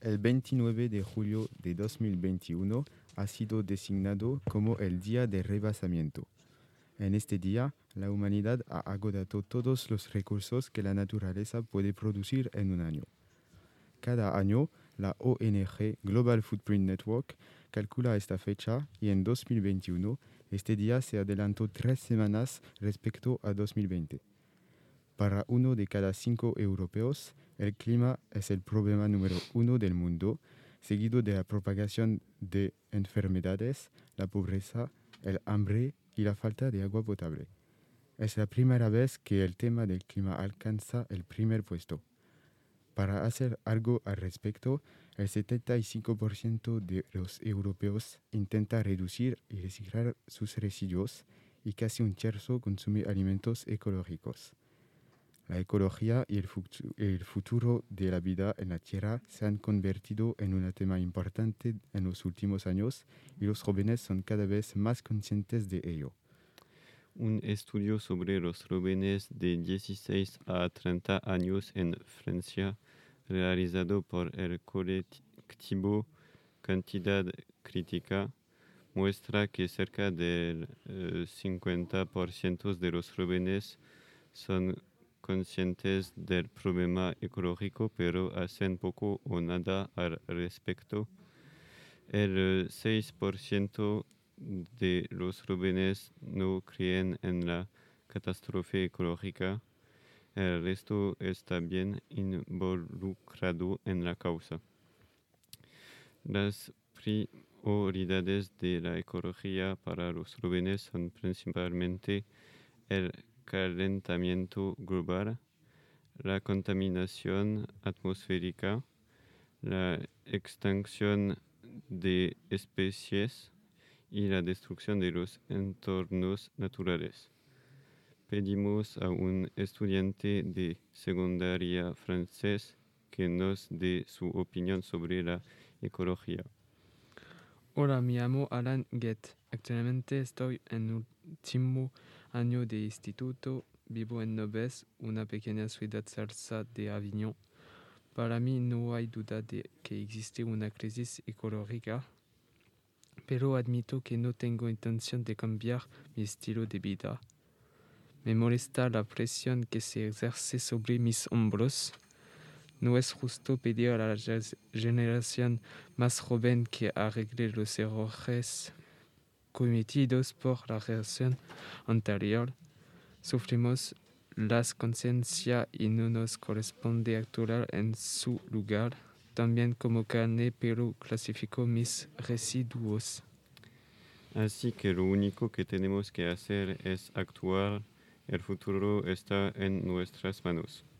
El 29 de julio de 2021 ha sido designado como el Día de Rebasamiento. En este día, la humanidad ha agotado todos los recursos que la naturaleza puede producir en un año. Cada año, la ONG Global Footprint Network calcula esta fecha y en 2021 este día se adelantó 3 semanas respecto a 2020. Para 1 de cada 5 europeos, el clima es el problema número 1 del mundo, seguido de la propagación de enfermedades, la pobreza, el hambre y la falta de agua potable. Es la primera vez que el tema del clima alcanza el primer puesto. Para hacer algo al respecto, el 75% de los europeos intenta reducir y reciclar sus residuos y casi un tercio consume alimentos ecológicos. La ecología y el futuro de la vida en la Tierra se han convertido en un tema importante en los últimos años y los jóvenes son cada vez más conscientes de ello. Un estudio sobre los jóvenes de 16 a 30 años en Francia, realizado por el colectivo Cantidad Crítica, muestra que cerca del 50% de los jóvenes son conscientes del problema ecológico, pero hacen poco o nada al respecto. El 6% de los jóvenes no creen en la catástrofe ecológica. El resto está bien involucrado en la causa. Las prioridades de la ecología para los jóvenes son principalmente el calentamiento global, la contaminación atmosférica, la extinción de especies y la destrucción de los entornos naturales. Pedimos a un estudiante de secundaria francés que nos dé su opinión sobre la ecología. Hola, me llamo Alan Get. Actualmente estoy en último año de instituto. Vivo en Nobes, una pequeña ciudad cerca de Avignon. Para mí no hay duda de que existe una crisis ecológica, pero admito que no tengo intención de cambiar mi estilo de vida. Me molesta la presión que se ejerce sobre mis hombros. No es justo pedir a la generación más joven que arregle los errores cometidos por la generación anterior. Sufrimos las conciencias y no nos corresponde actuar en su lugar. También como carne, pero clasifico mis residuos. Así que lo único que tenemos que hacer es actuar. El futuro está en nuestras manos.